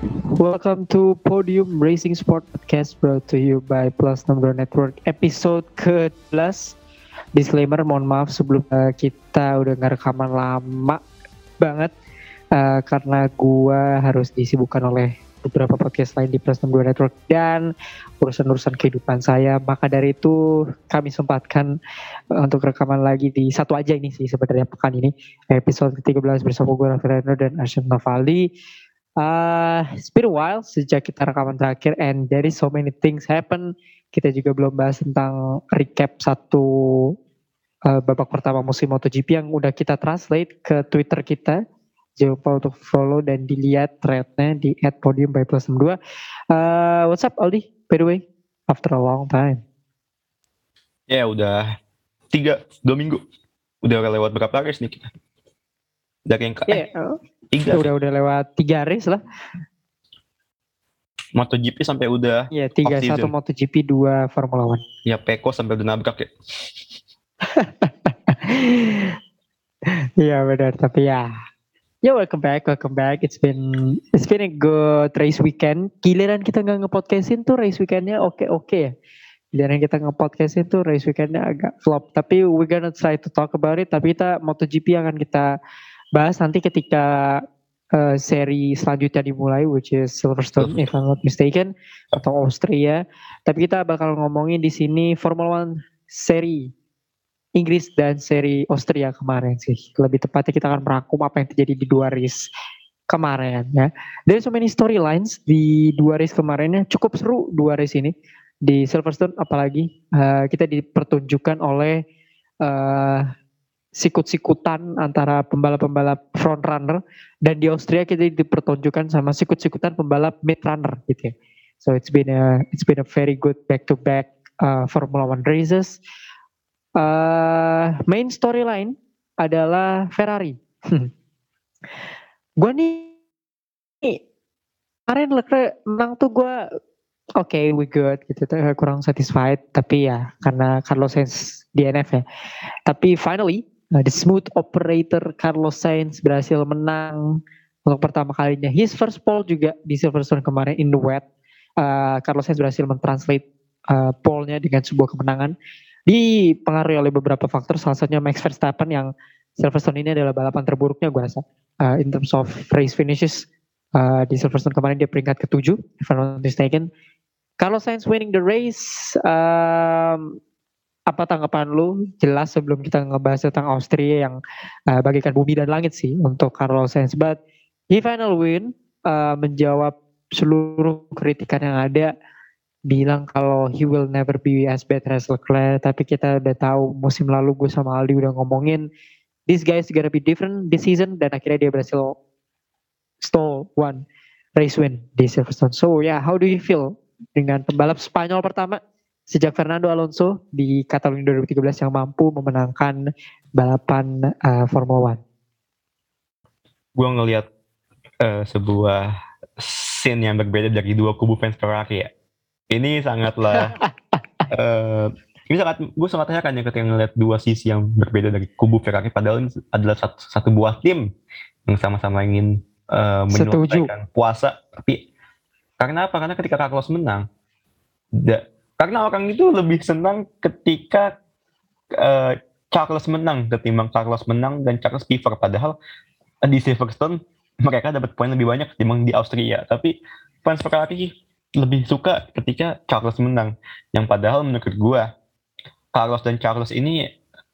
Welcome to Podium Racing Sport Podcast brought to you by Plus Number Network episode ke-12. Disclaimer, mohon maaf sebelum kita udah nggak rekaman lama banget karena gua harus disibukkan oleh beberapa podcast lain di Plus Number Network dan urusan-urusan kehidupan saya. Maka dari itu kami sempatkan untuk rekaman lagi di satu aja ini sih sebenarnya pekan ini episode ke-13 bersama gue Raffi Reno dan Arsyad Navaldi. It's been a while sejak kita rekaman terakhir and there is so many things happen. Kita juga belum bahas tentang recap satu babak pertama musim MotoGP yang udah kita translate ke Twitter kita. Jangan lupa untuk follow dan dilihat threadnya di @podium_by+62. What's up Aldi? By the way, after a long time. Ya udah 2 minggu. Udah lewat berapa race nih kita? Dari yang tiga. Udah lewat 3 race lah. MotoGP sampai udah. Iya, 3-1 MotoGP, 2 Formula One. Ya Peko sampai udah nabrak ya. Iya benar, tapi ya welcome back. It's been a good race weekend. Giliran kita nggak ngepodcastin tuh race weekendnya oke ya. Giliran kita ngepodcastin tuh race weekendnya agak flop. Tapi we gonna try to talk about it. Tapi kita MotoGP akan kita bahas nanti ketika seri selanjutnya dimulai, which is Silverstone if I'm not mistaken, atau Austria. Tapi kita bakal ngomongin di sini Formula One seri Inggris dan seri Austria kemarin sih. Lebih tepatnya kita akan merangkum apa yang terjadi di 2 race kemarin ya. There so many storylines di 2 race kemarinnya. Cukup seru 2 race ini. Di Silverstone apalagi kita dipertunjukkan oleh sikut-sikutan antara pembalap-pembalap front runner, dan di Austria kita dipertunjukkan sama sikut-sikutan pembalap mid runner gitu ya. So it's been a very good back-to-back Formula One races. Main storyline adalah Ferrari. Gue nih kemarin Leclerc menang tuh gue okay, we good gitu, kurang satisfied, tapi ya karena Carlos Sainz DNF ya. Tapi finally the smooth operator Carlos Sainz berhasil menang untuk pertama kalinya. His first pole juga di Silverstone kemarin in the wet. Carlos Sainz berhasil mentranslate pole-nya dengan sebuah kemenangan. Dipengaruhi oleh beberapa faktor, salah satunya Max Verstappen yang Silverstone ini adalah balapan terburuknya gue rasa in terms of race finishes. Di Silverstone kemarin dia peringkat ke-7 if I'm not mistaken. Carlos Sainz winning the race. Apa tanggapan lu? Jelas sebelum kita ngebahas tentang Austria yang bagikan bumi dan langit sih untuk Carlos Sainz, but he final win, menjawab seluruh kritikan yang ada, bilang kalau he will never be as bad as Leclerc. Tapi kita udah tahu musim lalu gue sama Aldi udah ngomongin this guy is gonna be different this season, dan akhirnya dia berhasil stole one race win di Silverstone. So yeah, how do you feel dengan pembalap Spanyol pertama sejak Fernando Alonso di Catalunya 2013 yang mampu memenangkan balapan Formula One? Gue ngelihat sebuah scene yang berbeda dari dua kubu fans Ferrari ya. Ini sangatlah gue sangat heran ya ketika ngelihat dua sisi yang berbeda dari kubu Ferrari, padahal ini adalah satu buah tim yang sama-sama ingin menyelesaikan puasa. Tapi karena apa? Karena ketika Carlos menang, karena orang itu lebih senang ketika Charles menang ketimbang Carlos menang dan Charles piver. Padahal di Silverstone mereka dapat poin lebih banyak ketimbang di Austria. Tapi fans Ferrari lebih suka ketika Charles menang. Yang padahal menurut gue Carlos dan Charles ini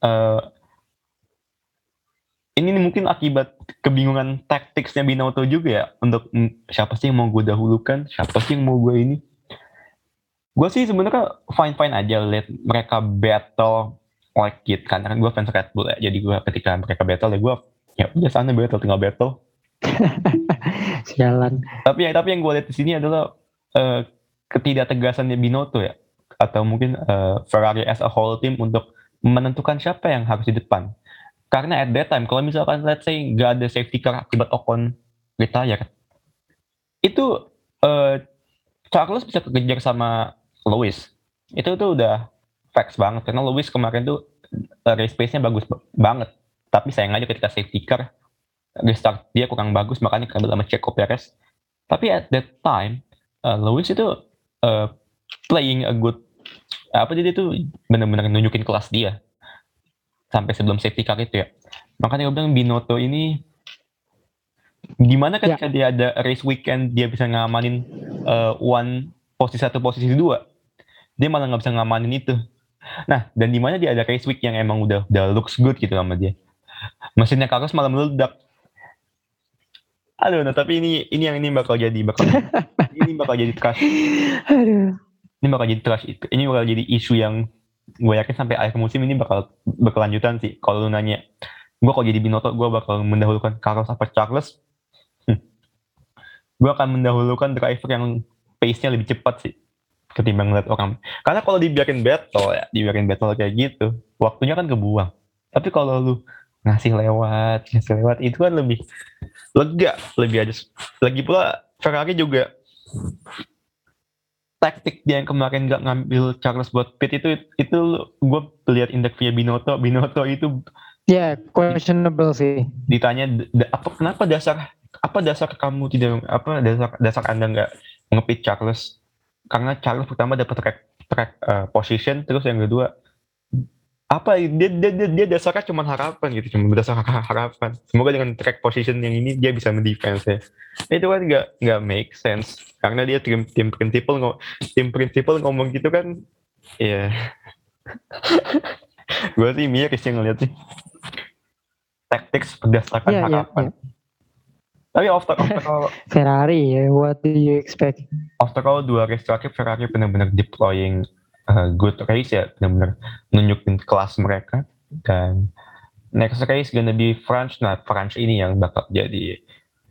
mungkin akibat kebingungan taktiknya Binotto juga ya, untuk siapa sih yang mau gue dahulukan, siapa sih yang mau gue ini. Gue sih sebenarnya fine aja lihat mereka battle like it, karena kan gue fans Red Bull ya. Jadi gue ketika mereka battle ya gue ya udah sana battle, tinggal battle. Jalan. Tapi yang gue lihat di sini adalah ketidaktegasannya Binotto ya, atau mungkin Ferrari as a whole team untuk menentukan siapa yang harus di depan. Karena at that time kalau misalkan let's say gak ada safety car akibat Ocon retire, itu Charles bisa kekejar sama Lewis. Itu tuh udah facts banget, karena Lewis kemarin tuh race pace-nya bagus banget. Tapi sayang aja ketika safety car restart dia kurang bagus, makanya kabel sama Checo Perez Tapi at that time Lewis itu playing a good jadi itu benar-benar nunjukin kelas dia sampai sebelum safety car itu ya. Makanya gue bilang Binotto ini gimana ketika dia ada race weekend dia bisa ngamanin posisi 1 posisi 2, dia malah nggak bisa ngamanin itu. Nah, dan di mana dia ada race week yang emang udah looks good gitu sama dia, mesinnya Carlos malah meledak. Aduh, nah tapi ini bakal jadi trash. Ini bakal jadi trash itu. Ini bakal jadi isu yang gue yakin sampai akhir musim ini bakal berkelanjutan sih. Kalau lu nanya, gue kalau jadi Binotto, gue bakal mendahulukan Carlos apa Charles. Gue akan mendahulukan driver yang pace-nya lebih cepat sih ketimbang ngeliat orang. Karena kalau dibiarin battle kayak gitu, waktunya kan kebuang. Tapi kalau lu ngasih lewat itu kan lebih lega, lebih ada. Lagi pula Ferrari juga taktik dia yang kemarin nggak ngambil Charles buat pit itu gue lihat interviewnya Binotto itu questionable sih. Ditanya kenapa dasar kamu tidak dasar Anda nggak ngepit Charles, karena Charles pertama dapat track position, terus yang kedua dia dasarnya cuma harapan gitu, cuma berdasar harapan, semoga dengan track position yang ini dia bisa mendefense ya. Itu kan nggak make sense, karena dia tim prinsipal ngomong gitu kan ya. Gue sih miris yang ngeliat sih tactics berdasarkan harapan. Tapi after all Ferrari ya, what do you expect? After all 2 race terakhir Ferrari benar-benar deploying good race ya, benar-benar nunjukin kelas mereka. Dan next race gonna be France. Nah, France ini yang bakal jadi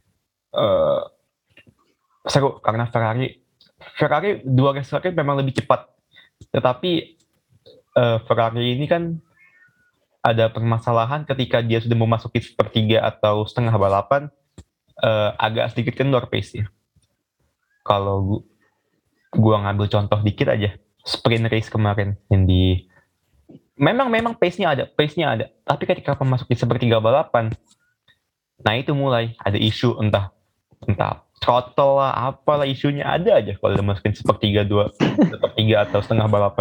seru karena Ferrari 2 race terakhir memang lebih cepat. Tetapi Ferrari ini kan ada permasalahan ketika dia sudah memasuki sepertiga atau setengah balapan, agak sedikit kendor pace-nya. Kalau gua ngambil contoh dikit aja, sprint race kemarin yang memang pace-nya ada, tapi ketika memasuki sepertiga balapan, nah itu mulai ada isu entah throttle lah, apalah isunya ada aja kalau masukin sepertiga atau setengah balapan.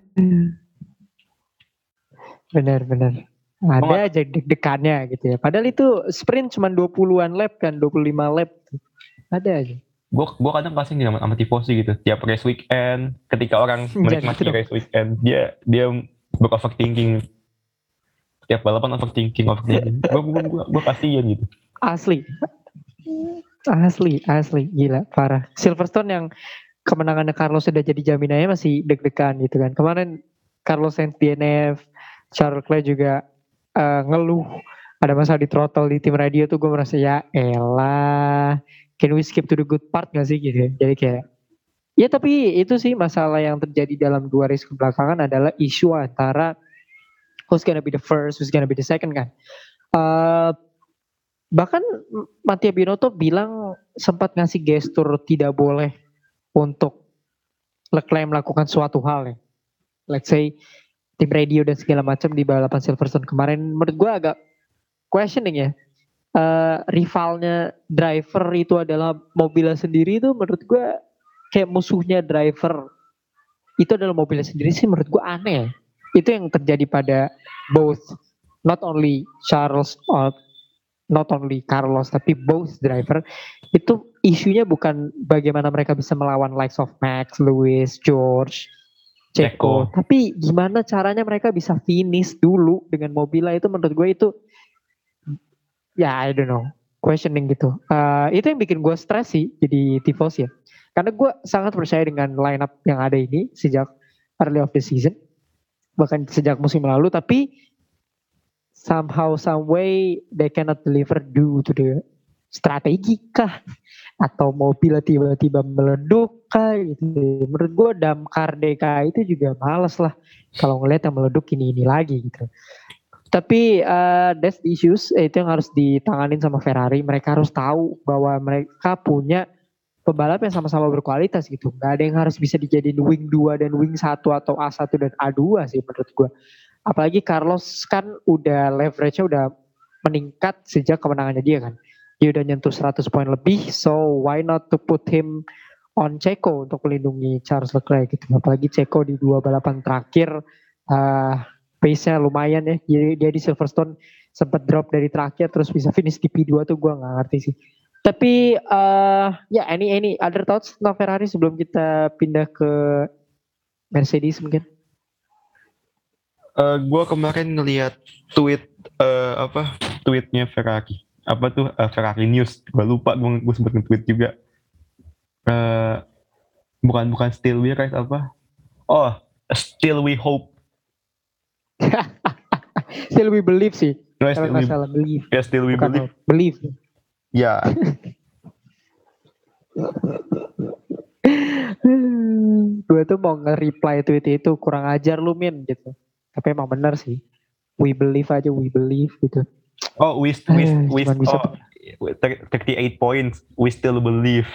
Benar. Ada aja deg-degannya gitu ya. Padahal itu sprint cuma 20-an lap kan, 25 lap. Ada aja. Gue kadang kasih sama tifosi gitu. Tiap race weekend, ketika orang menikmati race weekend, dia overthinking. Tiap balapan overthinking. Gue kasihan gitu. Asli, gila, parah. Silverstone yang kemenangannya Carlos sudah jadi jaminannya masih deg-degan gitu kan. Kemarin Carlos Sainz DNF, Charles Leclerc juga ngeluh ada masalah di throttle di tim radio tuh. Gue merasa ya elah, can we skip to the good part gak sih gitu ya. Jadi kayak ya, tapi itu sih masalah yang terjadi dalam 2 race kebelakangan adalah isu antara who's gonna be the first, who's gonna be the second kan. Bahkan Mattia Binotto bilang sempat ngasih gestur tidak boleh untuk Leclerc melakukan suatu hal ya. Let's say tim radio dan segala macam di balapan Silverstone kemarin, menurut gue agak questioning ya. Rivalnya driver itu adalah mobilnya sendiri, itu menurut gue kayak musuhnya driver itu adalah mobilnya sendiri sih, menurut gue aneh ya. Itu yang terjadi pada both, not only Carlos tapi both driver. Itu isunya bukan bagaimana mereka bisa melawan likes of Max, Lewis, George, Checo, tapi gimana caranya mereka bisa finish dulu dengan mobilnya. Itu menurut gue itu ya I don't know, questioning gitu. Itu yang bikin gue stres sih jadi tifos ya, karena gue sangat percaya dengan lineup yang ada ini sejak early of the season, bahkan sejak musim lalu. Tapi somehow some way they cannot deliver due to the strategi kah, atau mobil tiba-tiba meleduk kah gitu. Menurut gue damkar DK itu juga males lah kalau ngeliat yang meleduk ini lagi gitu. Tapi that's the issues, itu yang harus ditanganin sama Ferrari. Mereka harus tahu bahwa mereka punya pembalap yang sama-sama berkualitas gitu. Gak ada yang harus bisa dijadiin wing 2 dan wing 1 atau A1 dan A2 sih menurut gue. Apalagi Carlos kan udah leverage-nya udah meningkat sejak kemenangannya dia kan. dia udah nyentuh 100 poin lebih, so why not to put him on Checo untuk melindungi Charles Leclerc gitu. Apalagi Checo di 2 balapan terakhir pace-nya lumayan ya. Jadi dia di Silverstone sempat drop dari terakhir terus bisa finish di P2 tuh gue nggak ngerti sih. Tapi ya any other thoughts tentang Ferrari sebelum kita pindah ke Mercedes mungkin? Gue kemarin ngeliat tweetnya Ferrari. Apa tuh Ferrari News? Gue lupa, gue sempet nge-tweet juga. Bukan Still We Rise apa? Oh, Still We Hope. Still We Believe sih. No, Kalau nggak salah believe. Ya, Still We Bukan Believe. Believe. Ya. Gue tuh mau nge-reply tweet itu, kurang ajar lu Min gitu. Tapi emang bener sih. We believe aja, we believe gitu. Oh, we 38 points. We still believe.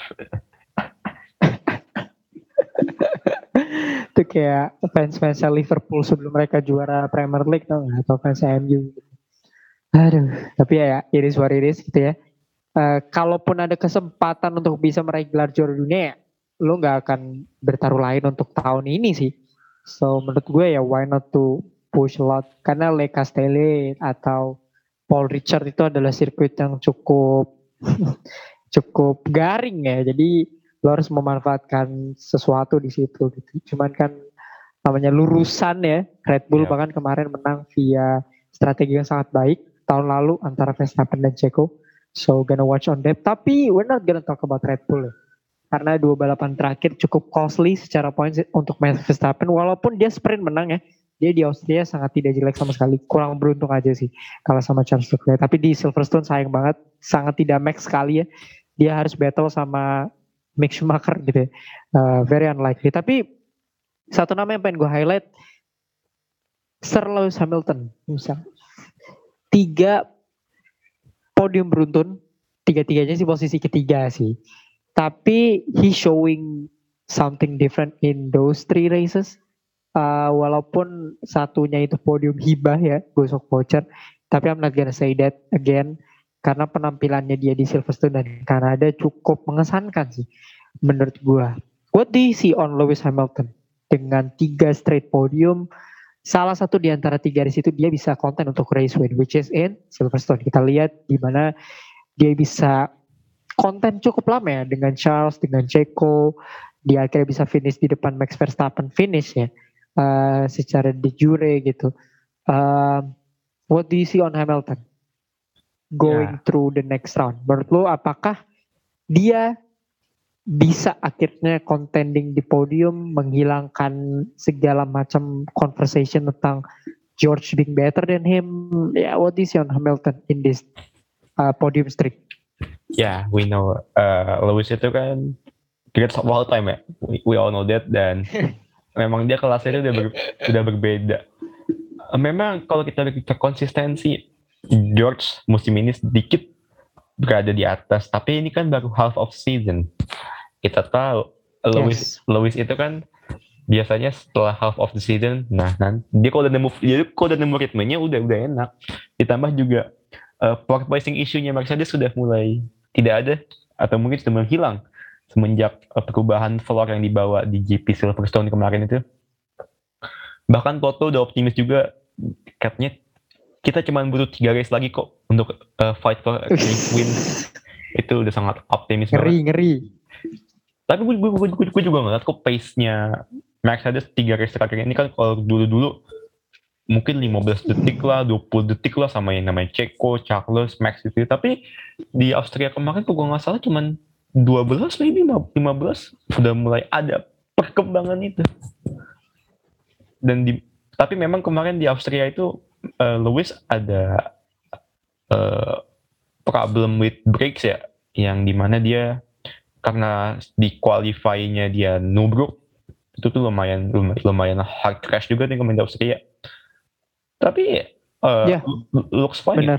Itu kayak fans Liverpool sebelum mereka juara Premier League tau gak? Atau fans MU gitu. Aduh, tapi ya it is what it is gitu ya. Kalaupun ada kesempatan untuk bisa meraih gelar juara dunia ya, lo gak akan bertaruh lain untuk tahun ini sih. So menurut gue ya why not to push a lot. Karena Le Castellet atau Paul Richard itu adalah sirkuit yang cukup cukup garing ya. Jadi lo harus memanfaatkan sesuatu di situ gitu. Cuman kan namanya lurusan ya. Red Bull bahkan kemarin menang via strategi yang sangat baik tahun lalu antara Verstappen dan Checo. So gonna watch on that. Tapi we're not gonna talk about Red Bull ya. Karena 2 balapan terakhir cukup costly secara points untuk Max Verstappen. Walaupun dia sprint menang ya. Dia di Austria sangat tidak jelek sama sekali. Kurang beruntung aja sih kalah sama Charles Leclerc. Tapi di Silverstone sayang banget. Sangat tidak max sekali ya. Dia harus battle sama Mick Schumacher gitu ya. Very unlikely. Tapi satu nama yang pengen gue highlight. Sir Lewis Hamilton. Misal. 3 podium beruntun. 3-3-nya sih posisi ketiga sih. Tapi he showing something different in those 3 races. Walaupun satunya itu podium hibah ya, gosok voucher. Tapi I'm not gonna say that again. Karena penampilannya dia di Silverstone dan Kanada cukup mengesankan sih. Menurut gue. What do you see on Lewis Hamilton? Dengan 3 straight podium. Salah satu di antara 3 race itu dia bisa konten untuk race win. Which is in Silverstone. Kita lihat di mana dia bisa konten cukup lama ya. Dengan Charles, dengan Checo. Dia akhirnya bisa finish di depan Max Verstappen finish ya. Secara de jure gitu. What do you see on Hamilton going through the next round? Menurut lo apakah dia bisa akhirnya contending di podium, menghilangkan segala macam conversation tentang George being better than him? What do you see on Hamilton in this podium streak? We know Lewis itu kan greatest of all time ya. We all know that, dan memang dia kelasnya udah berbeda. Memang kalau kita lihat konsistensi, George musim ini sedikit berada di atas, tapi ini kan baru half of season. Kita tahu Lewis itu kan biasanya setelah half of the season, dia kalau udah nemu ritmenya udah enak. Ditambah juga porpoising issue-nya Mercedes sudah mulai tidak ada atau mungkin sudah menghilang semenjak perubahan floor yang dibawa di GP Silverstone kemarin itu. Bahkan Toto udah optimis juga, katanya kita cuma butuh 3 race lagi kok untuk fight for win. Itu udah sangat optimis banget. Ngeri. Tapi gue juga ngeliat kok pace-nya Mercedes 3 race terakhir ini kan, kalau dulu mungkin 15 detik lah, 20 detik lah sama yang namanya Checo, Charles, Max itu. Tapi di Austria kemarin kok gue gak salah cuman 12 maybe 15 sudah mulai ada perkembangan itu. Tapi memang kemarin di Austria itu Lewis ada problem with brakes ya, yang dimana dia karena di qualify-nya dia nubruk, itu tuh lumayan hard crash juga nih kemarin di Austria. Tapi looks fine. Benar.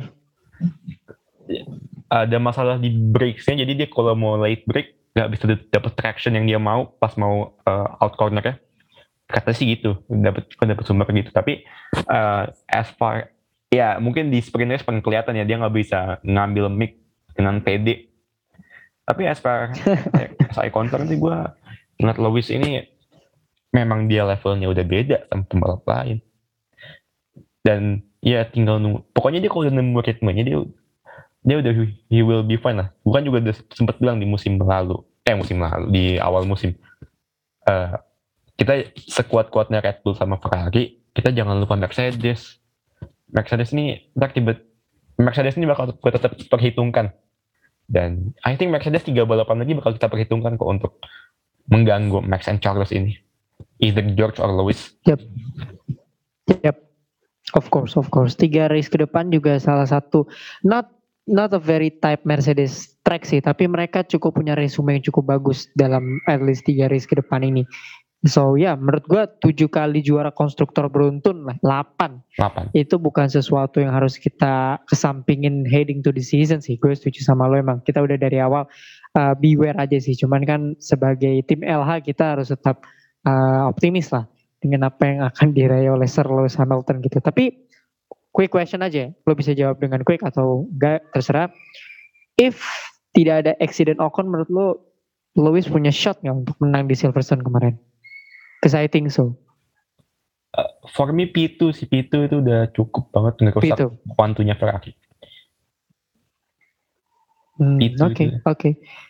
Ada masalah di brakes-nya, jadi dia kalau mau late brake nggak bisa dapat traction yang dia mau pas mau out corner ya. Katanya sih gitu, dapat sumber gitu. Tapi as far ya mungkin di sprint race pengen kelihatan ya dia nggak bisa ngambil mic dengan PD. Tapi as I concern sih gue ngeliat Lewis ini memang dia levelnya udah beda sama pembalap lain. Dan ya tinggal nunggu. Pokoknya dia kalau udah nemu ritmenya dia udah he will be fine lah. Bukan juga udah sempat bilang di musim lalu di awal musim. Kita sekuat-kuatnya Red Bull sama Ferrari, kita jangan lupa Mercedes. Mercedes ini bakal tetap perhitungkan. Dan I think Mercedes 3 balapan lagi bakal kita perhitungkan kok untuk mengganggu Max and Charles ini. Either George or Lewis. Yep. Of course. 3 race ke depan juga salah satu not a very type Mercedes track sih, tapi mereka cukup punya resume yang cukup bagus dalam at least 3 race ke depan ini. So menurut gue 7 kali juara konstruktor beruntun lah, 8. Itu bukan sesuatu yang harus kita kesampingin heading to the season sih. Gue setuju sama lo, emang kita udah dari awal beware aja sih. Cuman kan sebagai tim LH kita harus tetap optimis lah dengan apa yang akan diraih oleh Sir Lewis Hamilton gitu. Tapi quick question aja, lo bisa jawab dengan quick atau enggak, terserah. If tidak ada accident Ocon, menurut lo Lewis punya shot nggak untuk menang di Silverstone kemarin? Because I think so. For me P2 itu udah cukup banget ngerusak kuantunya Ferrari. Oke.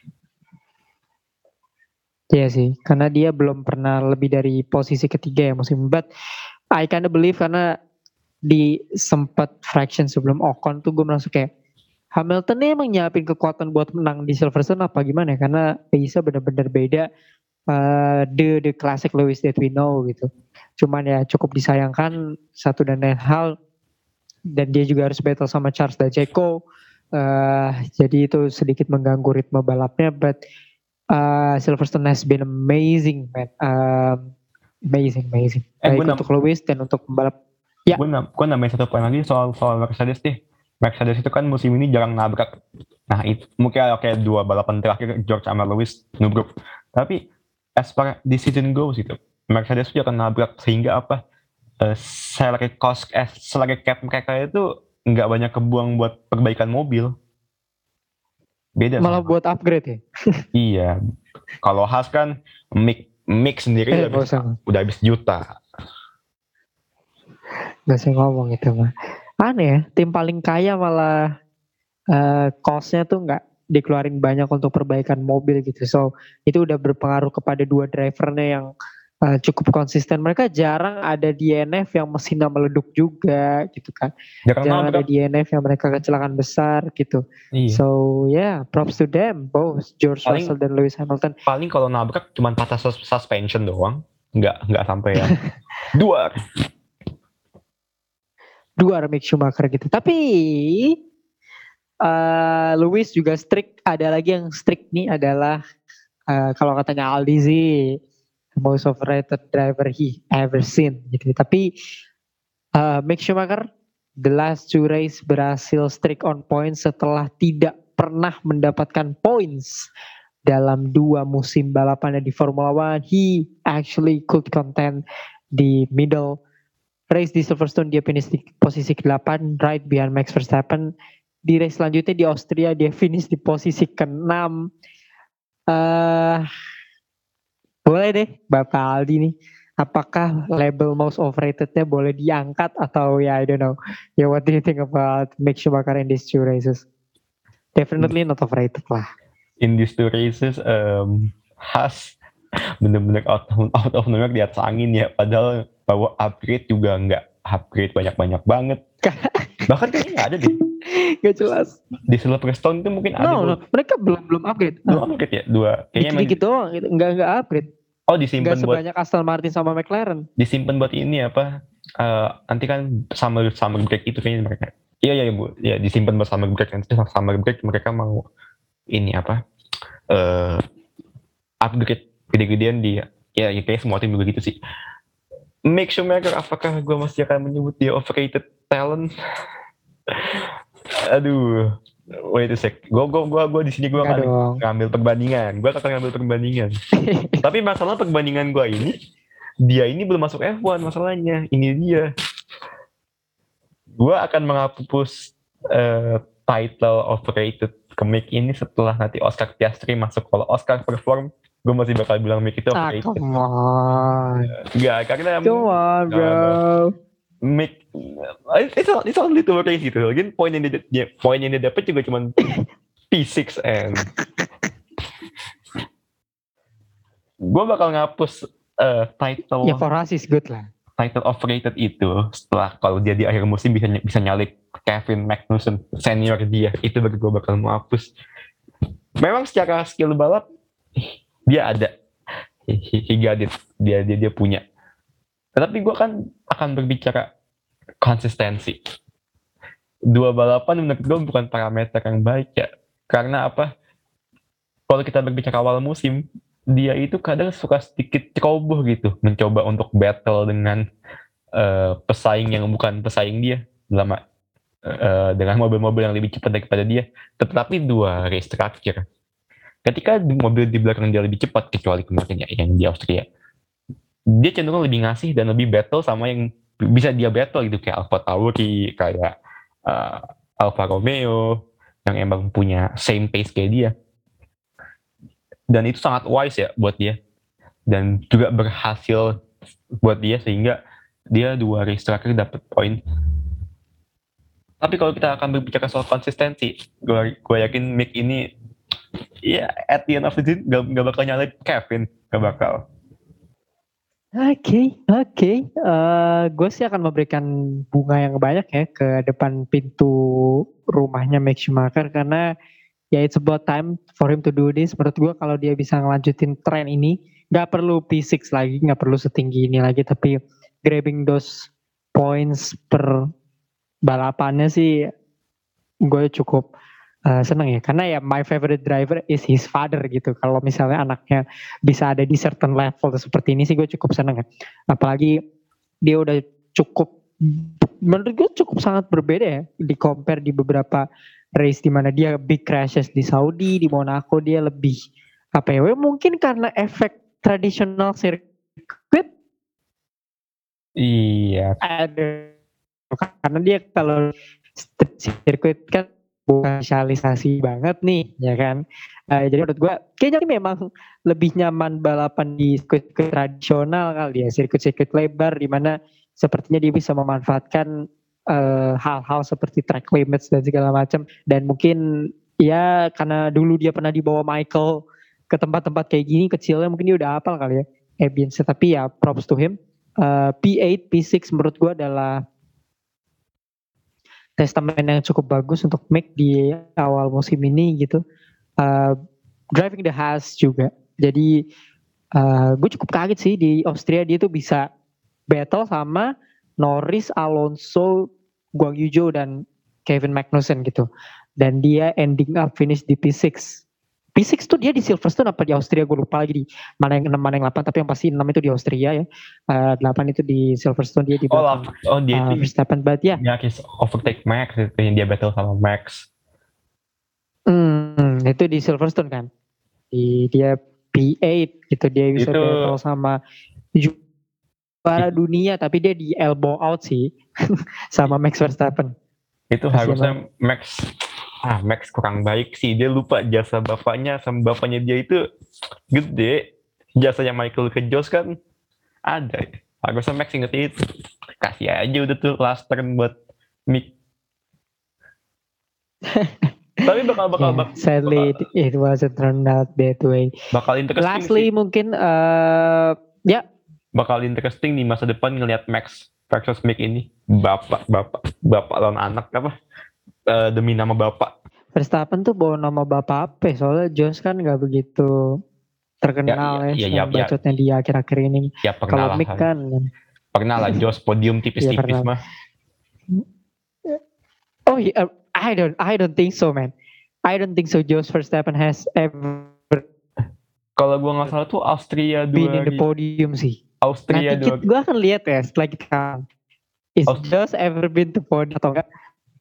Iya sih, karena dia belum pernah lebih dari posisi ketiga ya musim. But I kinda believe karena di sempat fraction sebelum Ocon tuh gue merasa kayak Hamilton nih emang nyiapin kekuatan buat menang di Silverstone apa gimana ya? Karena bisa benar-benar beda the classic Lewis that we know gitu. Cuman ya cukup disayangkan satu dan lain hal, dan dia juga harus battle sama Charles dan Checo. Jadi itu sedikit mengganggu ritme balapnya, but Silverstone has been amazing, man. Amazing. Baik untuk Lewis dan untuk pembalap. Ya. Gue nambahin satu poin lagi soal Mercedes deh. Mercedes itu kan musim ini jarang nabrak. Nah itu mungkin kayak 2 balapan terakhir George sama Lewis nubruk. Tapi as far the season goes itu, Mercedes juga akan nabrak sehingga salary cap mereka itu nggak banyak kebuang buat perbaikan mobil. Beda malah sama buat upgrade ya. Iya, kalau Haas kan mix sendiri udah habis juta. Gak usah ngomong itu mah. Aneh ya, tim paling kaya malah cost-nya tuh nggak dikeluarin banyak untuk perbaikan mobil gitu. So itu udah berpengaruh kepada 2 drivernya yang cukup konsisten. Mereka jarang ada DNF yang mesinnya meleduk juga gitu kan. Jarang ada DNF yang mereka kecelakaan besar gitu. Iya. So props to them both George Russell dan Lewis Hamilton. Paling kalau nabrak cuma patah suspension doang, nggak sampai ya 2 Mick Schumacher gitu. Tapi Lewis juga strict. Ada lagi yang strict nih adalah kalau katanya Aldi sih most overrated driver he ever seen gitu. Tapi Mick Schumacher the last 2 race berhasil strict on points setelah tidak pernah mendapatkan points dalam 2 musim balapannya di Formula One. He actually could contend di middle race di Silverstone. Dia finish di posisi ke-8 right behind Max Verstappen. Di race selanjutnya di Austria dia finish di posisi ke-6. Boleh deh Bapak Aldi nih, apakah label most overrated-nya boleh diangkat atau I don't know. What do you think about Mick Schumacher in these 2 races? Definitely not overrated lah. In these 2 races Haas bener-bener out of nowhere di atas angin ya, padahal bawa upgrade juga nggak upgrade banyak-banyak banget. Bahkan kayaknya nggak ada deh. Gak jelas. Di Silverstone itu mungkin ada. No, mereka belum upgrade. Belum upgrade ya? 2. Kayaknya dikit doang, nggak upgrade. Oh, disimpan buat sebanyak Aston Martin sama McLaren. Disimpan buat ini nanti kan summer break itu kayaknya mereka. Iya Bu. Ya disimpan buat summer break, nanti summer break mereka mau ini upgrade gede-gedean dia. Ya kayak semua tim juga gitu sih. Mick Schumacher, apakah gue masih akan menyebut dia overrated talent? Aduh, wait a sec. Gue di sini gue akan ngambil perbandingan. Tapi masalah perbandingan gue ini, dia ini belum masuk F1 masalahnya. Ini dia. Gue akan menghapus title overrated ke Mick ini setelah nanti Oscar Piastri masuk. Kalau Oscar perform, gue masih bakal bilang Mick itu overrated. Come on. Enggak, karena Come on, bro. Mick, it's only 2 race gitu. Lagi poin yang dia dapat juga cuma P6 and gue bakal ngapus title. Ya for us is good lah. Title overrated itu setelah kalau dia di akhir musim bisa nyalip Kevin Magnussen senior dia, itu bagi gue bakal mau hapus. Memang secara skill balap dia ada, he got it, dia punya. Tetapi gue kan akan berbicara konsistensi. 2 balapan menurut gue bukan parameter yang baik ya. Karena apa? Kalau kita berbicara awal musim, dia itu kadang suka sedikit ceroboh gitu, mencoba untuk battle dengan pesaing yang bukan pesaing dia, dengan mobil-mobil yang lebih cepat daripada dia. Tetapi 2 race terakhir, ketika mobil di belakang dia lebih cepat, kecuali kemarin ya yang di Austria, dia cenderung lebih ngasih dan lebih battle sama yang bisa dia battle gitu, kayak Alfa Tauri, kayak Alfa Romeo, yang emang punya same pace kayak dia. Dan itu sangat wise ya buat dia, dan juga berhasil buat dia sehingga dia 2 race terakhir dapat poin. Tapi kalau kita akan berbicara soal konsistensi, gue yakin Mick ini ya at the end of the day gak bakal nyalip Kevin, gak bakal. Oke. Gue sih akan memberikan bunga yang banyak ya ke depan pintu rumahnya Mick Schumacher, karena ya it's about time for him to do this. Menurut gue kalau dia bisa ngelanjutin tren ini, gak perlu P6 lagi, gak perlu setinggi ini lagi, tapi grabbing those points per balapannya sih gue cukup seneng ya. Karena ya my favorite driver is his father gitu. Kalau misalnya anaknya bisa ada di certain level seperti ini sih gue cukup seneng ya. Apalagi dia udah cukup, menurut gue cukup sangat berbeda ya di compare di beberapa race di mana dia big crashes di Saudi, di Monaco dia lebih apa ya, mungkin karena efek tradisional sirkuit. Iya. Ada, karena dia kalau sirkuit kan bukan spesialisasi banget nih, ya kan. Jadi menurut gue kayaknya memang lebih nyaman balapan di sirkuit tradisional kali ya, sirkuit lebar di mana sepertinya dia bisa memanfaatkan hal-hal seperti track limits dan segala macam. Dan mungkin ya karena dulu dia pernah dibawa Michael ke tempat-tempat kayak gini kecilnya, mungkin dia udah hafal kali ya ambience. Tapi ya props to him. P8, P6 menurut gue adalah testament yang cukup bagus untuk Mick di awal musim ini gitu. Driving the Haas juga. Jadi gue cukup kaget sih di Austria dia tuh bisa battle sama Norris, Alonso, Guang Yu Zhou dan Kevin Magnussen gitu. Dan dia ending up finish di P6. P6 tuh dia di Silverstone apa di Austria, gue lupa lagi di mana yang 6 mana yang 8, tapi yang pasti 6 itu di Austria ya. 8 itu di Silverstone, dia di belakang dia itu Verstappen, but ya. Ya, overtake Max itu yang dia battle sama Max. Itu di Silverstone kan. Dia P8 gitu, dia bisa itu battle sama juara dunia, tapi dia di elbow out sih sama Max Verstappen. Itu harusnya Max kurang baik sih, dia lupa jasa bapaknya, sama bapaknya dia itu gede. Jasanya Michael ke Josh kan ada, harusnya Max inget itu. Kasih aja udah tuh last turn buat Mick. Tapi bakal sadly it wasn't turned out that way. Bakal interesting. Lastly sih, mungkin bakal interesting di masa depan ngelihat Max versus Mick ini. Bapak lawan anak apa? Demi nama bapak. Verstappen tuh bawa nama bapak apa? Soalnya Josh kan nggak begitu terkenal bacotnya di akhir-akhir ini. Ya, kalau Mick kan pernah lah Josh podium tipis-tipis mah. Oh yeah, I don't think so, man. I don't think so. Josh Verstappen has ever. Kalau gue nggak salah tuh Austria 2 been in the podium sih. Austria nanti gue akan lihat ya setelah kita. Is Josh ever been to podium atau enggak?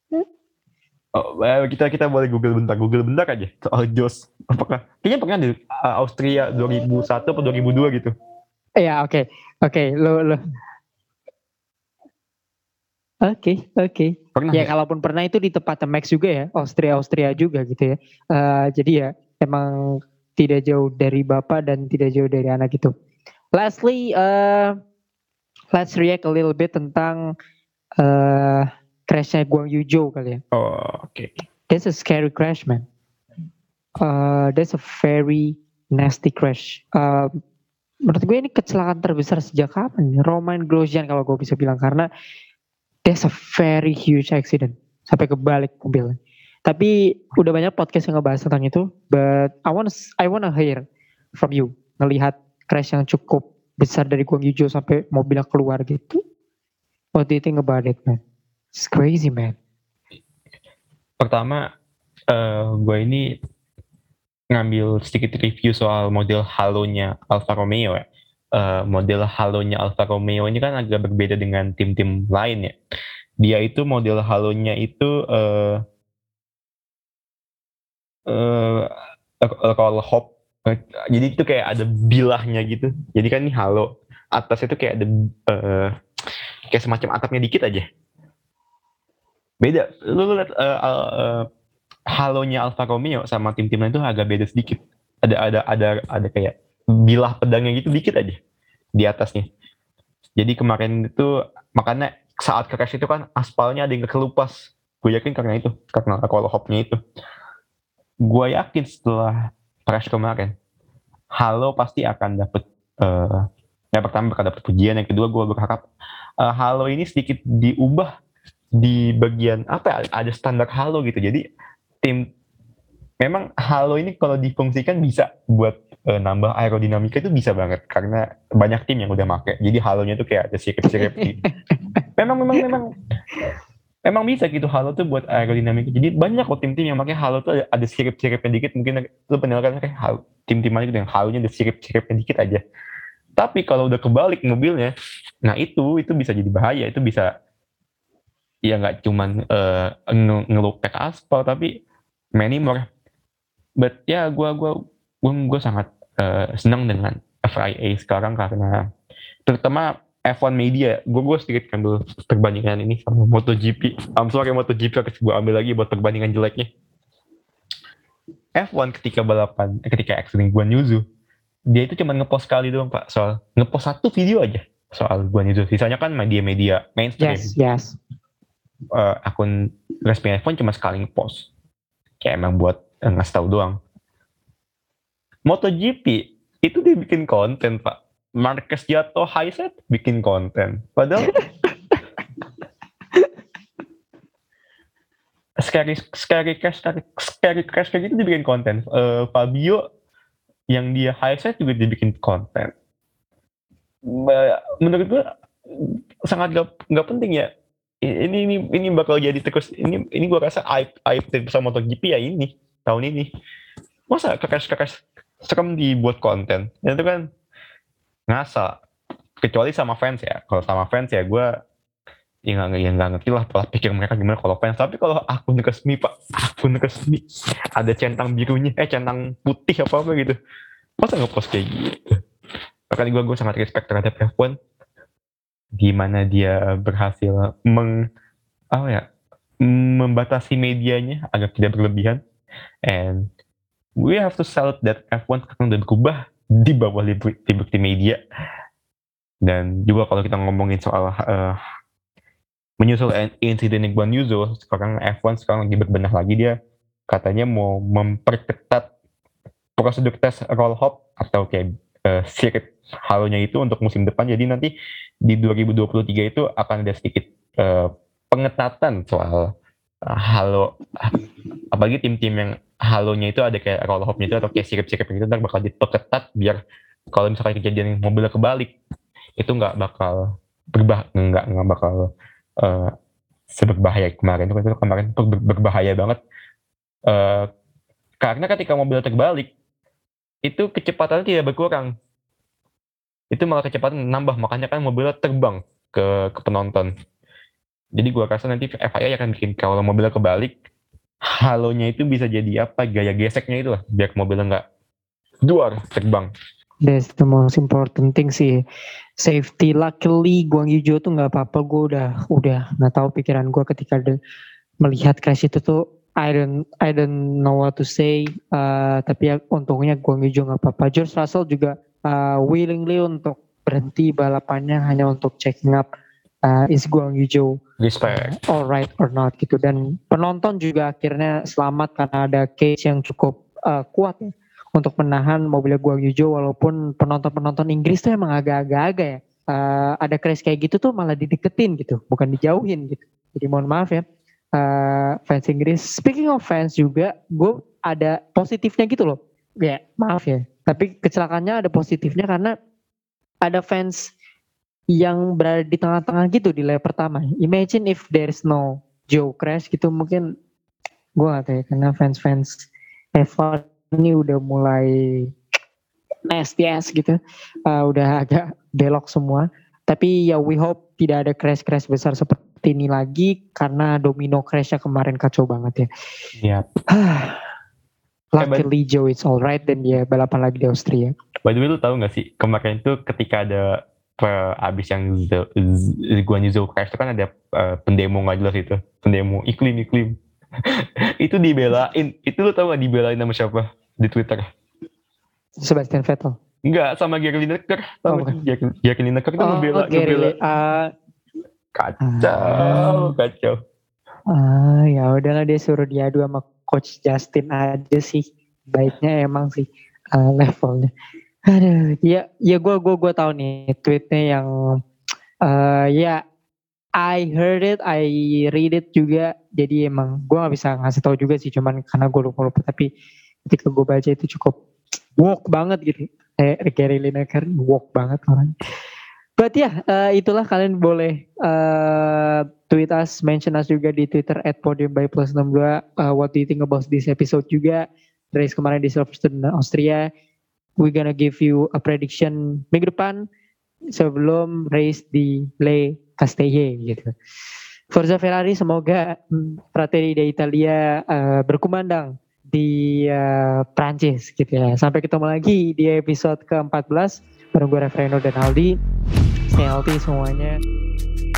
Kita boleh Google bentar aja soal Josh. Apakah kayaknya pernah di Austria 2001 atau 2002 gitu. Iya, oke. Lo Oke. Pernah Ya nggak? kalaupun pernah itu di tempatnya Max juga ya, Austria juga gitu ya. Jadi ya emang tidak jauh dari bapak dan tidak jauh dari anak gitu. Lastly, let's react a little bit tentang crashnya Guang Yu kali ya. Oh, oke. That's a scary crash, man. That's a very nasty crash. Menurut gue ini kecelakaan terbesar sejak kapan? Romain Grosjean kalau gue bisa bilang, karena that's a very huge accident sampai kebalik mobilnya. Tapi udah banyak podcast yang ngebahas tentang itu, but I wanna hear from you, ngelihat crash yang cukup besar dari Guang Yu sampai mobilnya keluar gitu. What do you think about it, man? It's crazy, man. Pertama, gue ini ngambil sedikit review soal model halonya Alfa Romeo ya. Model halonya Alfa Romeo ini kan agak berbeda dengan tim-tim lain ya. Dia itu model halonya itu roll hop. Jadi itu kayak ada bilahnya gitu. Jadi kan ini halo. Atas itu kayak ada kayak semacam atapnya dikit aja. Beda. Lu lihat halonya Alfa Romeo sama tim-tim lain itu agak beda sedikit. Ada kayak bilah pedangnya gitu dikit aja di atasnya. Jadi kemarin itu makanya saat crash itu kan aspalnya ada yang kelupas. Gue yakin karena itu, karena roll hopnya itu. Gue yakin setelah crash kemarin, Halo pasti akan dapet yang pertama bakal dapet pujian, yang kedua gue berharap Halo ini sedikit diubah di bagian apa ya, ada standar Halo gitu. Jadi tim memang Halo ini kalau difungsikan bisa buat nambah aerodinamika itu bisa banget karena banyak tim yang udah make. Jadi Halonya tuh kayak ada sirip-sirip gitu. Memang bisa gitu Halo tuh buat aerodinamika. Jadi banyak kok tim-tim yang pakai Halo tuh ada sirip-siripnya dikit. Mungkin lu pernah kan kayak tim-tim aja gitu yang Halonya ada sirip-siripnya dikit aja. Tapi kalau udah kebalik mobilnya, nah itu bisa jadi bahaya. Itu bisa ya nggak cuman ngelupek aspal, tapi many more. But ya gue sangat senang dengan FIA sekarang karena terutama F1 Media. Gue sedikit ambil perbandingan ini sama MotoGP. MotoGP harus gue ambil lagi buat perbandingan jeleknya. F1 ketika accident Guan Yuzu, dia itu cuma ngepost sekali doang pak, soal ngepost satu video aja soal Guan Yuzu. Sisanya kan media mainstream. Yes. Akun resmi F1 cuma sekali ngepost. Kayak emang buat ngasih tahu doang. MotoGP itu dia bikin konten pak. Marquez jatuh high set bikin konten. Padahal scary crash kayak gitu dibikin konten. Fabio yang dia high set juga dibikin konten. Menurut gue sangat nggak penting ya. Ini bakal jadi terus. Ini gue rasa aib sama MotoGP ya ini tahun ini. Masa crash serem dibuat konten? Itu kan ngasal. Kecuali sama fans ya. Kalau sama fans ya gue ya nggak ngerti lah pola pikir mereka gimana kalau fans. Tapi kalau akun resmi pak, ada centang birunya, centang putih apa gitu, masa ngepost kayak gitu? Makanya gue sangat respect terhadap F1, gimana dia berhasil membatasi medianya agar tidak berlebihan. And we have to salute that F1 sekarang udah berubah di bawah Liberty Media. Dan juga kalau kita ngomongin soal menyusul insiden Guan Yuzu, sekarang F1 sekarang lagi berbenah lagi. Dia katanya mau memperketat prosedur tes roll hop atau kayak sirip halonya itu untuk musim depan. Jadi nanti di 2023 itu akan ada sedikit pengetatan soal halo, apalagi tim-tim yang halonya itu ada kayak roll hopnya itu atau kayak sirip-sirip gitu, ntar bakal diperketat biar kalau misalkan kejadian mobilnya kebalik itu nggak bakal nggak bakal seberbahaya kemarin. Itu kemarin berbahaya banget karena ketika mobil terbalik itu kecepatannya tidak berkurang, itu malah kecepatan nambah, makanya kan mobilnya terbang ke penonton. Jadi gue rasa nanti FIA akan bikin kalau mobilnya kebalik, halonya itu bisa jadi apa, gaya geseknya itu lah, biar mobilnya nggak duar terbang. That's the most important thing sih. Safety, luckily Guang Yu Zhou tuh nggak apa-apa. Gue udah nggak tahu pikiran gue ketika melihat crash itu tuh. I don't know what to say. Tapi ya untungnya Guang Yu Zhou nggak apa-apa. George Russell juga willingly untuk berhenti balapannya hanya untuk checking up is Guang Yu Zhou alright or not gitu. Dan penonton juga akhirnya selamat karena ada cage yang cukup kuat ya untuk menahan mobilnya Guang Yu Zhou, walaupun penonton Inggris tuh emang agak-agak ya. Ada crash kayak gitu tuh malah dideketin gitu, bukan dijauhin gitu. Jadi mohon maaf ya fans Inggris. Speaking of fans juga, gue ada positifnya gitu loh. Ya maaf ya, tapi kecelakaannya ada positifnya karena ada fans yang berada di tengah-tengah gitu di lap pertama. Imagine if there's no Joe crash gitu, mungkin gue gak tahu ya, karena fans F1 ini udah mulai nasty ass gitu, udah agak belok semua. Tapi ya we hope tidak ada crash besar seperti ini lagi karena domino crashnya kemarin kacau banget ya. Iya. Luckily Joe it's alright dan dia balapan lagi di Austria. By the way, lu tahu nggak sih kemarin itu ketika ada abis yang Guan Yu Zhou crash itu kan ada pendemo nggak jelas itu, pendemo iklim itu dibelain. Itu lu tahu nggak dibelain sama siapa di Twitter? Sebastian Vettel. Enggak, sama Gary Lineker. Gary Lineker itu ngebela. Kacau. Ya udahlah, dia suruh diadu sama Coach Justin aja sih. Baiknya emang sih levelnya. Aduh, ya gue tahu nih tweetnya yang ya I heard it, I read it juga. Jadi emang gue gak bisa ngasih tahu juga sih, cuman karena gue lupa. Tapi ketika gue baca itu cukup woke banget gitu. Gary Lineker woke banget orang. But ya itulah, kalian boleh tweet us, mention us juga di Twitter @podiumbyplus62. What do you think about this episode juga? Race kemarin di Silverstone Austria. We gonna give you a prediction minggu depan sebelum race di Le Castellet gitu. Forza Ferrari, semoga Fratelli d'Italia berkumandang di Prancis gitu ya. Sampai ketemu lagi di episode ke-14 bareng gue Refreno dan Aldi. Stay healthy semuanya.